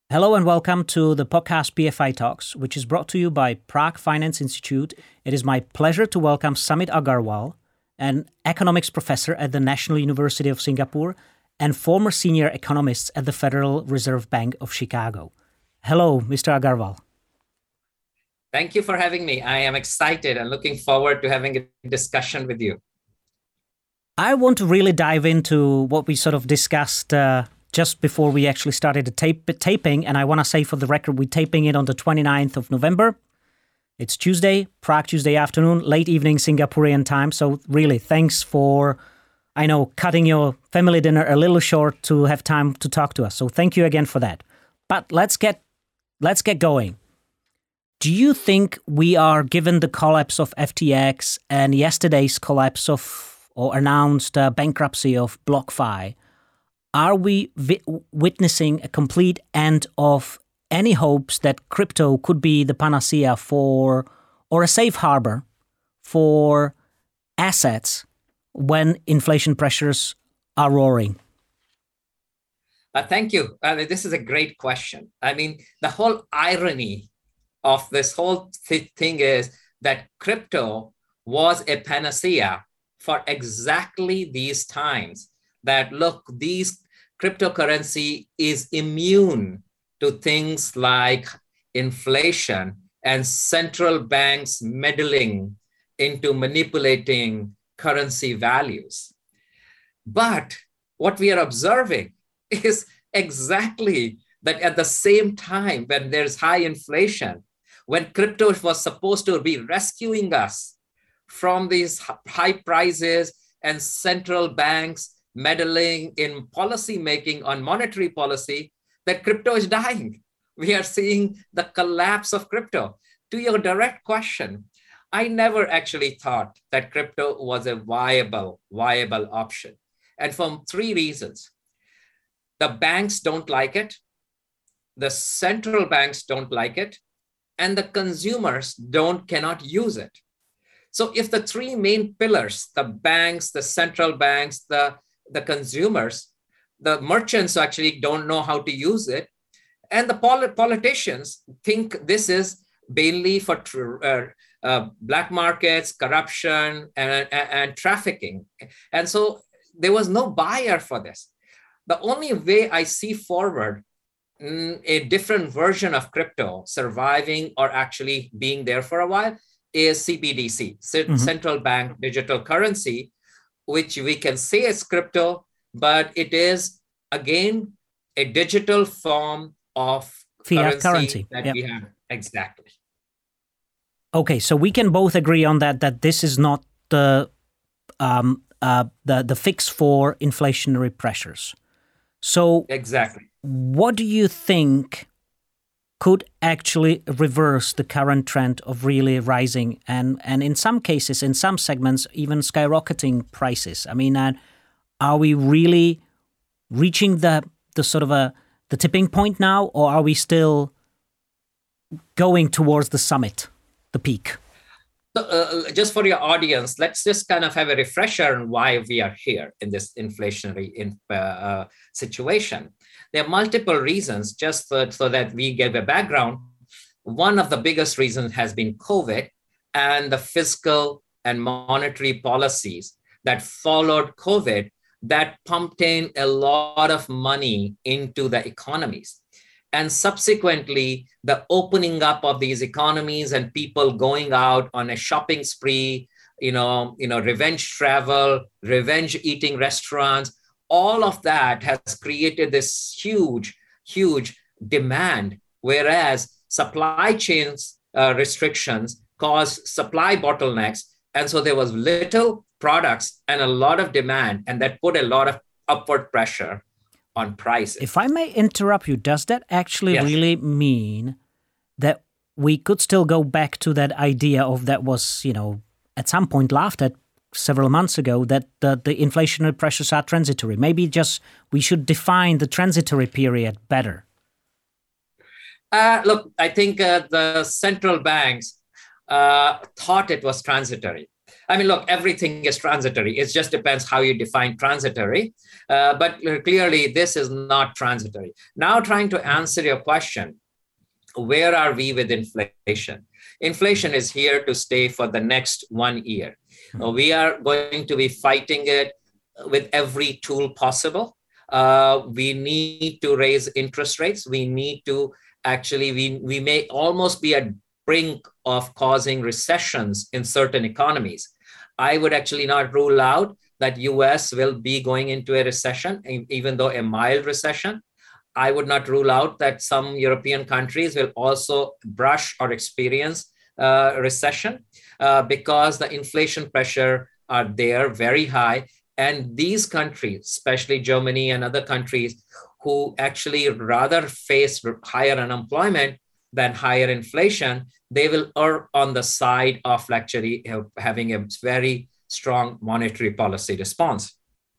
Hello and welcome to the podcast PFI Talks, which is brought to you by Prague Finance Institute. It is my pleasure to welcome Samit Agarwal, an economics professor at the National University of Singapore and former senior economist at the Federal Reserve Bank of Chicago. Hello, Mr. Agarwal. Thank you for having me. I am excited and looking forward to having a discussion with you. I want to really dive into what we sort of discussed just before we actually started the taping. And I want to say for the record, we're taping it on the 29th of November. It's Tuesday, Prague Tuesday afternoon, late evening Singaporean time. So really, thanks for, cutting your family dinner a little short to have time to talk to us. So thank you again for that. But let's get going. Do you think we are, given the collapse of FTX and yesterday's collapse of or announced bankruptcy of BlockFi, are we witnessing a complete end of any hopes that crypto could be the panacea for, or a safe harbor for assets when inflation pressures are roaring? Thank you. This is a great question. The whole irony of this whole thing is that crypto was a panacea for exactly these times. That look, these cryptocurrency is immune to things like inflation and central banks meddling into manipulating currency values. But what we are observing is exactly that at the same time when there's high inflation, when crypto was supposed to be rescuing us from these high prices and central banks meddling in policy making on monetary policy, that crypto is dying. We are seeing the collapse of crypto. To your direct question, I never actually thought that crypto was a viable option. And for three reasons. The banks don't like it, the central banks don't like it, and the consumers cannot use it. So if the three main pillars, the banks, the central banks, the consumers, the merchants actually don't know how to use it, and the politicians think this is mainly for black markets, corruption, and trafficking. And so there was no buyer for this. The only way I see forward a different version of crypto surviving or actually being there for a while is CBDC, central bank digital currency, which we can say is crypto, but it is, again, a digital form of fiat currency that we have. Exactly. Okay, so we can both agree on that this is not the fix for inflationary pressures. So exactly, what do you think could actually reverse the current trend of really rising and in some cases, in some segments, even skyrocketing prices? Are we really reaching the sort of the tipping point now, or are we still going towards the summit, the peak? So, just for your audience, let's just kind of have a refresher on why we are here in this inflationary situation. There are multiple reasons, just so that we give a background. One of the biggest reasons has been COVID and the fiscal and monetary policies that followed COVID that pumped in a lot of money into the economies. And subsequently, the opening up of these economies and people going out on a shopping spree, revenge travel, revenge eating restaurants, all of that has created this huge demand, whereas supply chains restrictions caused supply bottlenecks. And so there was little products and a lot of demand, and that put a lot of upward pressure on prices. If I may interrupt you, does that actually really mean that we could still go back to that idea of that was, at some point laughed at several months ago, that the inflationary pressures are transitory? Maybe just we should define the transitory period better. Look, I think the central banks thought it was transitory. I mean, look, everything is transitory. It just depends how you define transitory. But clearly, this is not transitory. Now, trying to answer your question, where are we with inflation? Inflation is here to stay for the next 1 year. We are going to be fighting it with every tool possible. We need to raise interest rates. We need to we may almost be at brink of causing recessions in certain economies. I would actually not rule out that US will be going into a recession, even though a mild recession. I would not rule out that some European countries will also brush or experience recession because the inflation pressure are there very high. And these countries, especially Germany and other countries, who actually rather face higher unemployment than higher inflation, they will err on the side of actually having a very strong monetary policy response.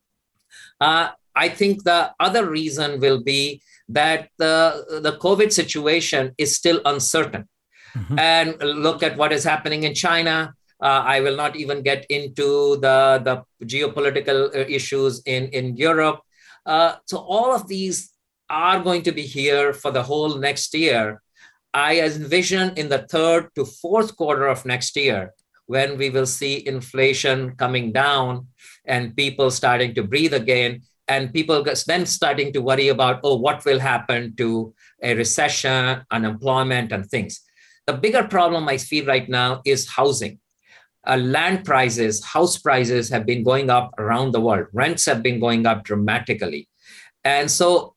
I think the other reason will be that the COVID situation is still uncertain. Mm-hmm. And look at what is happening in China. I will not even get into the geopolitical issues in Europe. So all of these are going to be here for the whole next year. I envision in the third to fourth quarter of next year, when we will see inflation coming down and people starting to breathe again, and people then starting to worry about, what will happen to a recession, unemployment, and things. The bigger problem I feel right now is housing. Land prices, house prices have been going up around the world. Rents have been going up dramatically. And so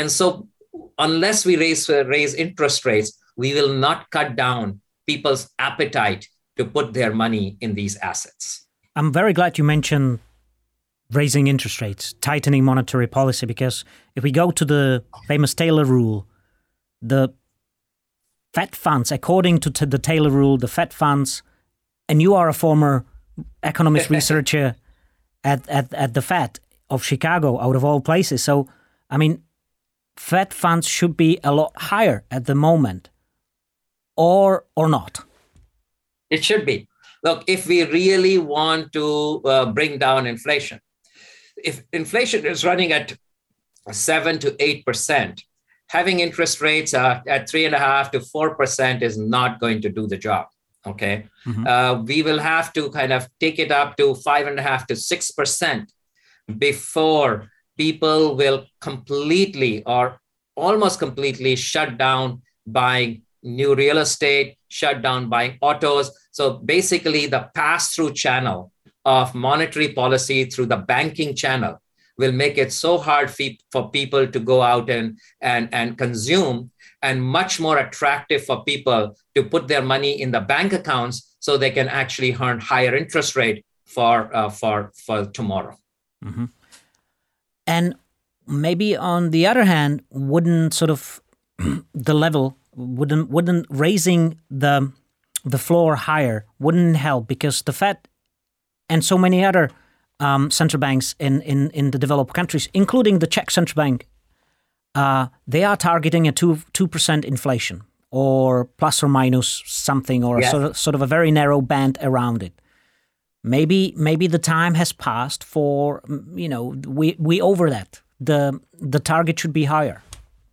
unless we raise interest rates, we will not cut down people's appetite to put their money in these assets. I'm very glad you mentioned raising interest rates, tightening monetary policy, because if we go to the famous Taylor rule, the Fed funds, according to the Taylor rule, the Fed funds, and you are a former economist researcher at the Fed of Chicago, out of all places. So, I mean, Fed funds should be a lot higher at the moment, or not. It should be. Look, if we really want to bring down inflation, if inflation is running at 7 to 8%, having interest rates at 3.5% to 4% is not going to do the job. Okay, mm-hmm. We will have to kind of take it up to 5.5% to 6% before people will completely or almost completely shut down buying new real estate, shut down buying autos. So basically, the pass-through channel of monetary policy through the banking channel will make it so hard for people to go out and consume, and much more attractive for people to put their money in the bank accounts so they can actually earn higher interest rate for tomorrow. Mm-hmm. And maybe on the other hand, wouldn't sort of the level wouldn't raising the floor higher wouldn't help, because the Fed and so many other central banks in the developed countries, including the Czech central bank, they are targeting a 2% inflation, or plus or minus something, or yes, sort of a very narrow band around it. Maybe the time has passed for, we over that. The target should be higher.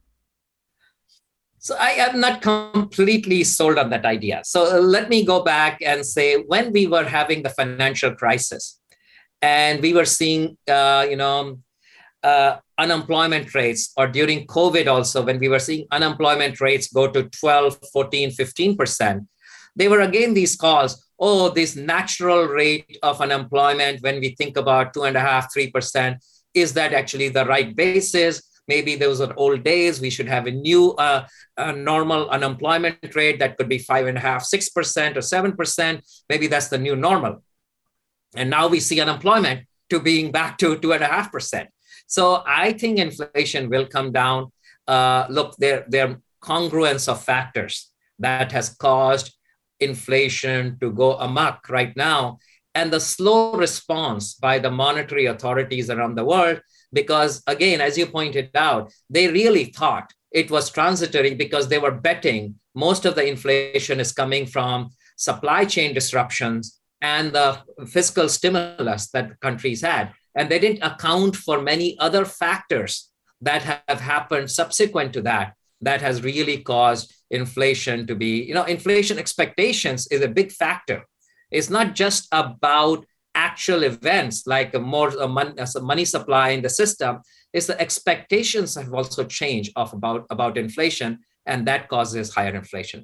So I am not completely sold on that idea. So let me go back and say, when we were having the financial crisis and we were seeing, unemployment rates, or during COVID also, when we were seeing unemployment rates go to 12, 14, 15%, they were again these calls, this natural rate of unemployment, when we think about 2.5%, 3%, is that actually the right basis? Maybe those are old days. We should have a new normal unemployment rate that could be 5.5%, 6% or 7%. Maybe that's the new normal. And now we see unemployment to being back to 2.5%. So I think inflation will come down. Look, there are congruence of factors that has caused inflation to go amok right now, and the slow response by the monetary authorities around the world. Because again, as you pointed out, they really thought it was transitory, because they were betting most of the inflation is coming from supply chain disruptions and the fiscal stimulus that countries had. And they didn't account for many other factors that have happened subsequent to that, that has really caused inflation to be, inflation expectations is a big factor. It's not just about actual events like a money supply in the system. It's the expectations have also changed about inflation, and that causes higher inflation.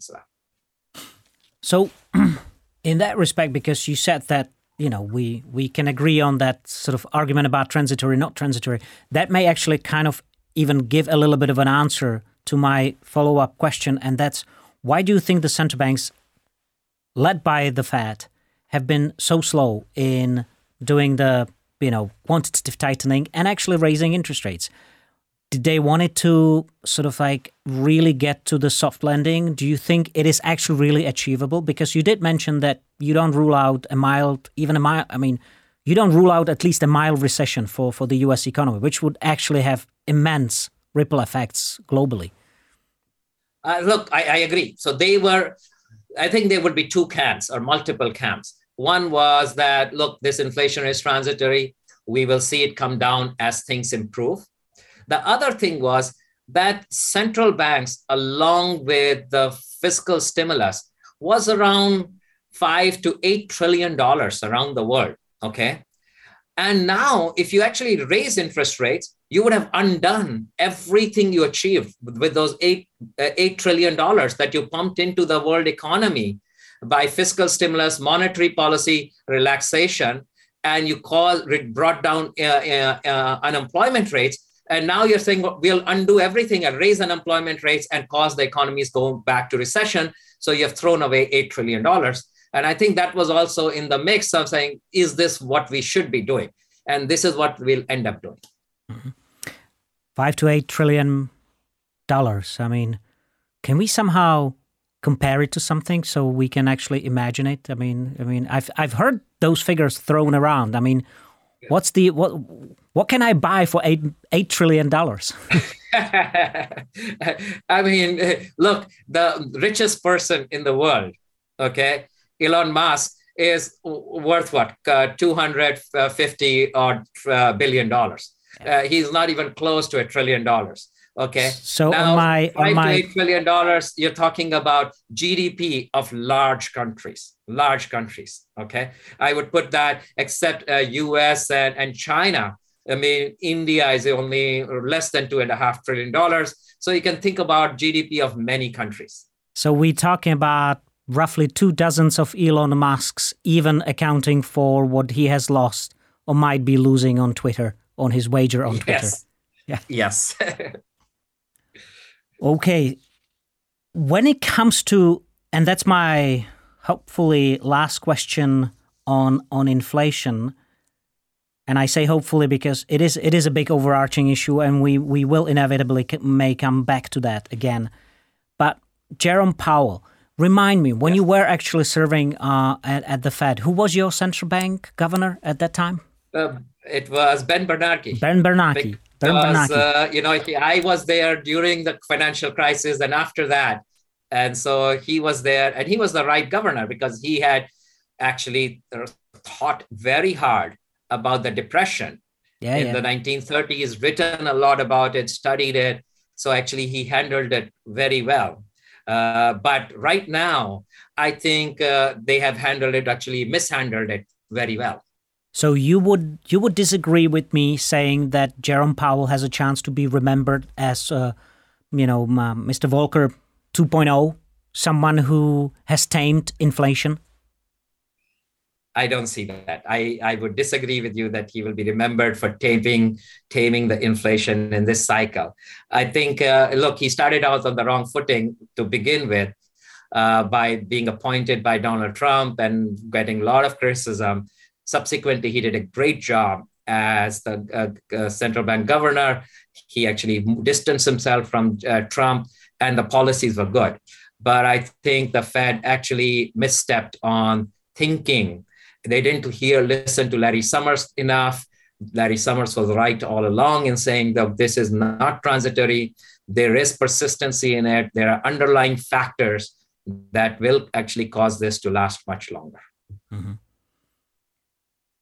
So in that respect, because you said that, we can agree on that sort of argument about transitory, not transitory, that may actually kind of even give a little bit of an answer to my follow-up question. And that's, why do you think the central banks, led by the Fed, have been so slow in doing the, quantitative tightening and actually raising interest rates? Did they want it to sort of like really get to the soft landing? Do you think it is actually really achievable? Because you did mention that you don't rule out you don't rule out at least a mild recession for the US economy, which would actually have immense ripple effects globally. Look, I agree. So I think there would be two camps or multiple camps. One was that, look, this inflation is transitory. We will see it come down as things improve. The other thing was that central banks, along with the fiscal stimulus, was around $5 to $8 trillion around the world. Okay. And now, if you actually raise interest rates, you would have undone everything you achieved with those $8 trillion that you pumped into the world economy by fiscal stimulus, monetary policy relaxation, and you brought down unemployment rates. And now you're saying, well, we'll undo everything and raise unemployment rates and cause the economies go back to recession. So you have thrown away $8 trillion. And I think that was also in the mix of saying, is this what we should be doing? And this is what we'll end up doing. Mm-hmm. $5 to $8 trillion. I mean, can we somehow compare it to something so we can actually imagine it? I mean, I've heard those figures thrown around. I mean, what can I buy for $8 trillion? I mean, look, the richest person in the world, okay, Elon Musk, is worth what? $250 billion. He's not even close to $1 trillion. Okay. So now, $5 to $8 trillion, you're talking about GDP of large countries. Okay. I would put that, except US and China. I mean, India is only less than $2.5 trillion. So you can think about GDP of many countries. So we're talking about roughly 2 dozens of Elon Musks, even accounting for what he has lost or might be losing on Twitter, on his wager on Twitter. Yeah. Yes. Okay. When it comes to, and that's my hopefully last question on inflation, and I say hopefully because it is a big overarching issue, and we will inevitably may come back to that again. But Jerome Powell, remind me, when you were actually serving at the Fed, who was your central bank governor at that time? It was Ben Bernanke. Ben Bernanke. I was there during the financial crisis and after that. And so he was there, and he was the right governor because he had actually thought very hard about the Depression in the 1930s, written a lot about it, studied it. So actually he handled it very well. But right now, I think they have mishandled it very well. So you would disagree with me saying that Jerome Powell has a chance to be remembered as, Mr. Volcker 2.0, someone who has tamed inflation? I don't see that. I would disagree with you that he will be remembered for taming the inflation in this cycle. I think, he started out on the wrong footing to begin with by being appointed by Donald Trump and getting a lot of criticism. Subsequently, he did a great job as the central bank governor. He actually distanced himself from Trump, and the policies were good. But I think the Fed actually misstepped on thinking. They didn't listen to Larry Summers enough. Larry Summers was right all along in saying that this is not transitory. There is persistency in it. There are underlying factors that will actually cause this to last much longer. Mm-hmm.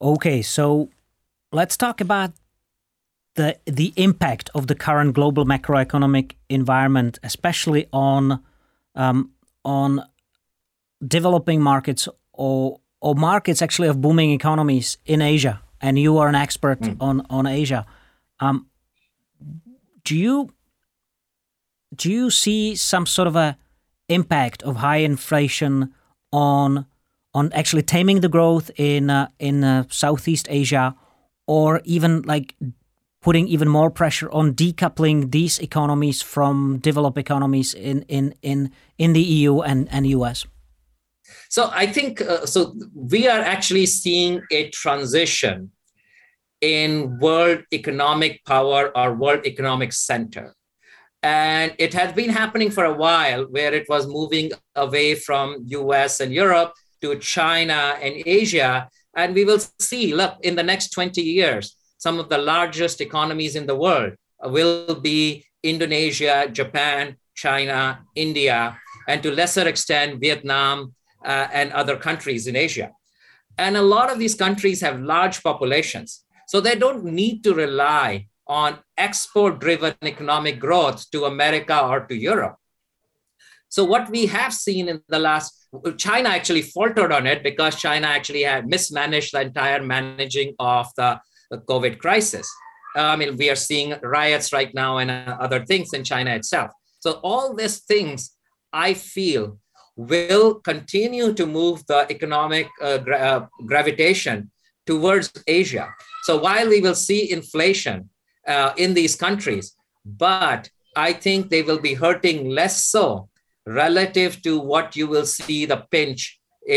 Okay, so let's talk about the impact of the current global macroeconomic environment, especially on developing markets or markets actually of booming economies in Asia. And you are an expert on Asia. Do you see some sort of a impact of high inflation on actually taming the growth in Southeast Asia, or even like putting even more pressure on decoupling these economies from developed economies in the EU and US? So I think so. We are actually seeing a transition in world economic power or world economic center. And it has been happening for a while, where it was moving away from US and Europe to China and Asia. And we will see, look, in the next 20 years, some of the largest economies in the world will be Indonesia, Japan, China, India, and to lesser extent, Vietnam and other countries in Asia. And a lot of these countries have large populations. So they don't need to rely on export-driven economic growth to America or to Europe. So what we have seen in the last, China actually faltered on it because China actually had mismanaged the entire managing of the COVID crisis. I mean, we are seeing riots right now and other things in China itself. So all these things, I feel, will continue to move the economic gravitation towards Asia. So while we will see inflation in these countries, but I think they will be hurting less so relative to what you will see the pinch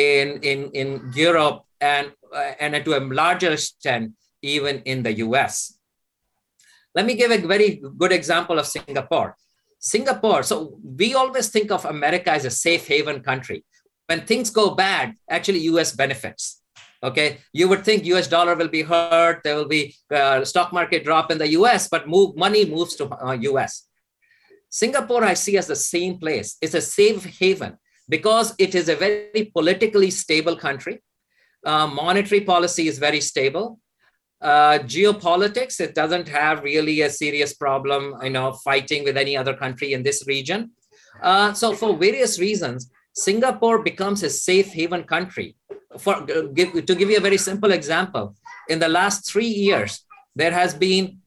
in Europe and to a larger extent, even in the US. Let me give a very good example of Singapore. Singapore, so we always think of America as a safe haven country. When things go bad, actually US benefits. Okay, you would think US dollar will be hurt, there will be stock market drop in the US, but money moves to US. Singapore I see as the same place. It's a safe haven because it is a very politically stable country. Monetary policy is very stable. Geopolitics, it doesn't have really a serious problem, fighting with any other country in this region. So for various reasons, Singapore becomes a safe haven country. To give you a very simple example, in the last 3 years, there has been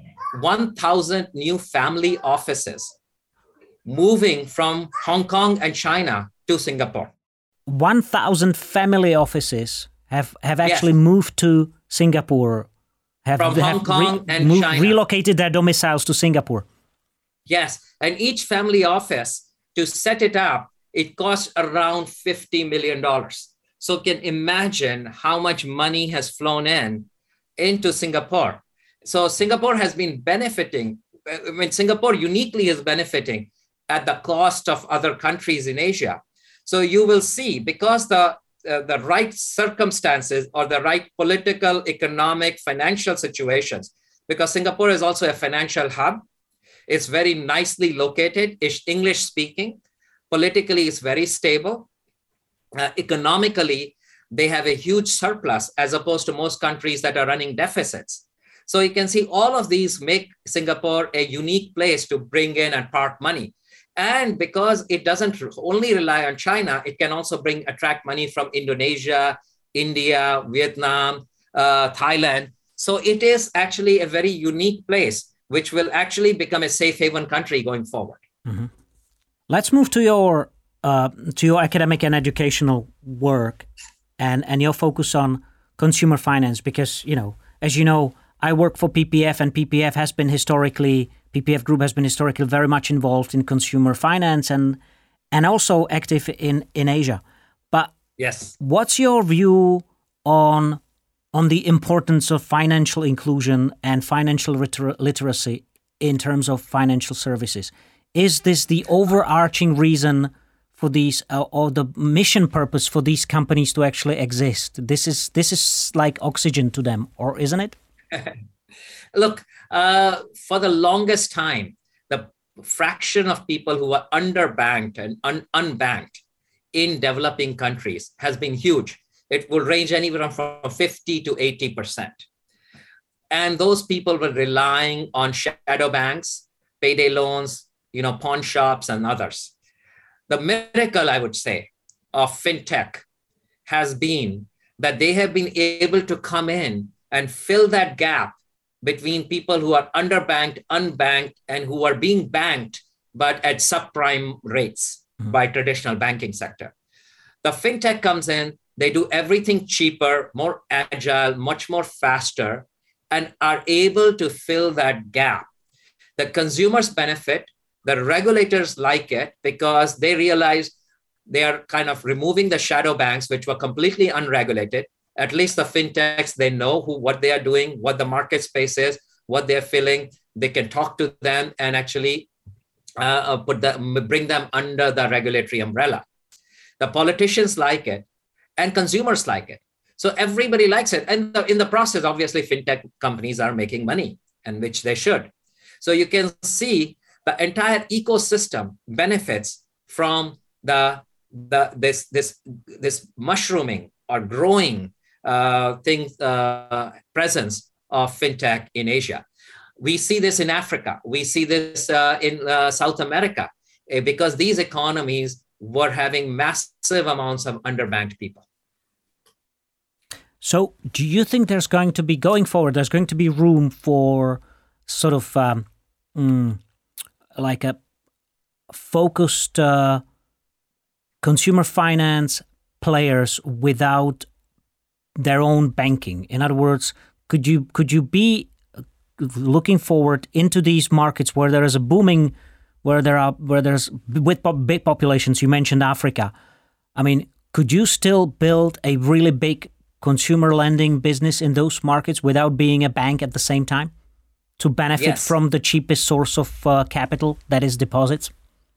1,000 new family offices moving from Hong Kong and China to Singapore. 1,000 family offices have actually moved to Singapore, from Hong Kong and China. Relocated their domiciles to Singapore. Yes, and each family office, to set it up, it costs around $50 million. So you can imagine how much money has flown into Singapore. So Singapore has been benefiting. I mean, Singapore uniquely is benefiting at the cost of other countries in Asia. So you will see, because the right circumstances or the right political, economic, financial situations, because Singapore is also a financial hub. It's very nicely located, it's English speaking. Politically, it's very stable. Economically, they have a huge surplus as opposed to most countries that are running deficits. So you can see all of these make Singapore a unique place to bring in and park money. And because it doesn't only rely on China, it can also attract money from Indonesia, India, Vietnam, Thailand. So it is actually a very unique place, which will actually become a safe haven country going forward. Mm-hmm. Let's move to your academic and educational work and your focus on consumer finance, because, as you know, I work for PPF, and PPF Group has been historically very much involved in consumer finance and also active in Asia. But yes, what's your view on the importance of financial inclusion and financial literacy in terms of financial services? Is this the overarching reason for these, or the mission purpose for these companies to actually exist? This is like oxygen to them, or isn't it? Look, for the longest time, the fraction of people who are underbanked and unbanked in developing countries has been huge. it will range anywhere from 50 to 80%. And those people were relying on shadow banks, payday loans, pawn shops and others. The miracle, I would say, of fintech has been that they have been able to come in and fill that gap between people who are underbanked, unbanked, and who are being banked, but at subprime rates by traditional banking sector. The fintech comes in, they do everything cheaper, more agile, much more faster, and are able to fill that gap. The consumers benefit, the regulators like it because they realize they are kind of removing the shadow banks, which were completely unregulated. At least the fintechs, they know what they are doing, what the market space is, what they're filling. They can talk to them and actually bring them under the regulatory umbrella. The politicians like it and consumers like it. So everybody likes it. And in the process, obviously, fintech companies are making money, and which they should. So you can see the entire ecosystem benefits from this mushrooming or growing presence of fintech in Asia. We see this in Africa. We see this in South America because these economies were having massive amounts of underbanked people. So do you think there's going to be, going forward, there's going to be room for sort of like a focused consumer finance players without their own banking? In other words, could you be looking forward into these markets where there is a booming, where there's with big populations? You mentioned Africa. I mean, could you still build a really big consumer lending business in those markets without being a bank at the same time to benefit from the cheapest source of capital, that is deposits?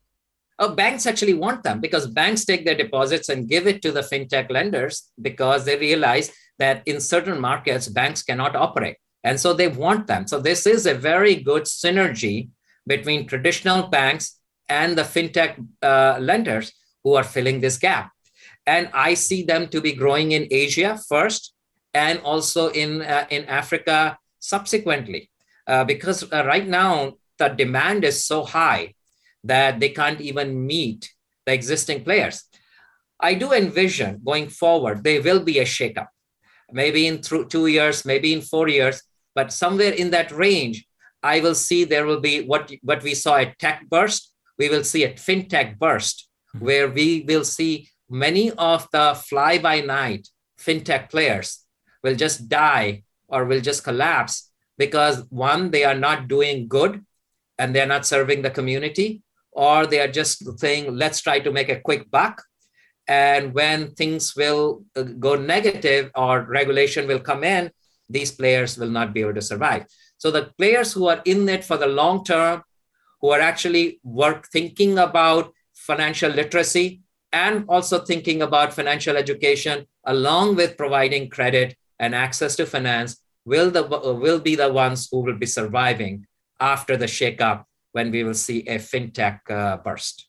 Banks actually want them because banks take their deposits and give it to the fintech lenders because they realize that in certain markets, banks cannot operate. And so they want them. So this is a very good synergy between traditional banks and the fintech lenders who are filling this gap. And I see them to be growing in Asia first and also in Africa subsequently, because right now the demand is so high that they can't even meet the existing players. I do envision going forward, there will be a shakeup, maybe in 2 years, maybe in 4 years, but somewhere in that range, I will see there will be what we saw at tech burst. We will see a fintech burst where we will see many of the fly-by-night fintech players will just die or will just collapse because one, they are not doing good and they're not serving the community, or they are just saying, let's try to make a quick buck. And when things will go negative or regulation will come in, these players will not be able to survive. So the players who are in it for the long term, who are actually thinking about financial literacy and also thinking about financial education, along with providing credit and access to finance, will be the ones who will be surviving after the shakeup when we will see a fintech burst.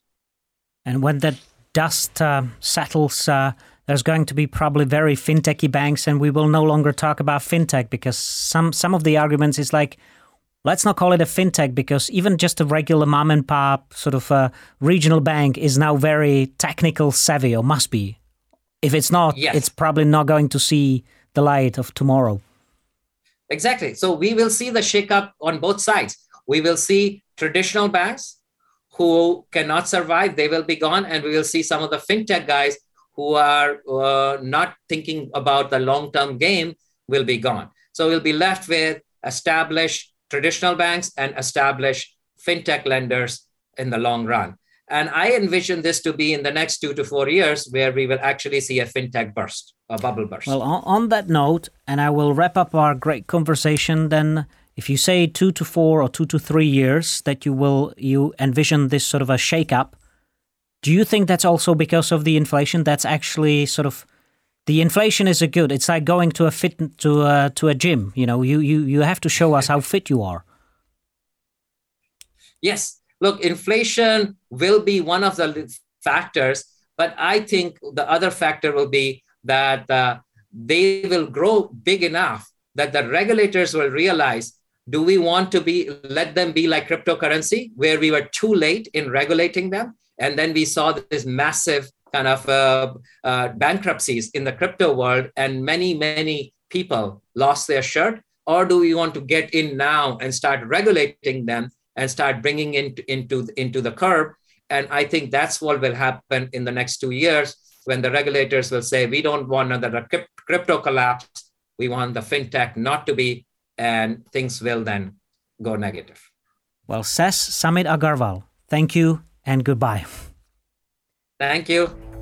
And when that dust settles, there's going to be probably very fintechy banks, and we will no longer talk about fintech because some of the arguments is like, let's not call it a fintech because even just a regular mom and pop sort of regional bank is now very technical savvy, or must be. If it's not, it's probably not going to see the light of tomorrow. Exactly. So we will see the shakeup on both sides. We will see traditional banks who cannot survive, they will be gone. And we will see some of the fintech guys who are not thinking about the long-term game will be gone. So we'll be left with established traditional banks and established fintech lenders in the long run. And I envision this to be in the next 2 to 4 years where we will actually see a fintech burst, a bubble burst. Well, on that note, and I will wrap up our great conversation then, if you say 2 to 4 or 2 to 3 years that you envision this sort of a shake-up, do you think that's also because of the inflation? That's actually sort of, the inflation is a good. It's like going to a gym. You know, you have to show us how fit you are. Yes, look, inflation will be one of the factors, but I think the other factor will be that they will grow big enough that the regulators will realize, do we want to let them be like cryptocurrency, where we were too late in regulating them? And then we saw this massive kind of bankruptcies in the crypto world, and many people lost their shirt. Or do we want to get in now and start regulating them and start bringing into the curb? And I think that's what will happen in the next 2 years, when the regulators will say, we don't want another crypto collapse. We want the fintech not to be, and things will then go negative. Well, Ses Samit Agarwal, thank you and goodbye. Thank you.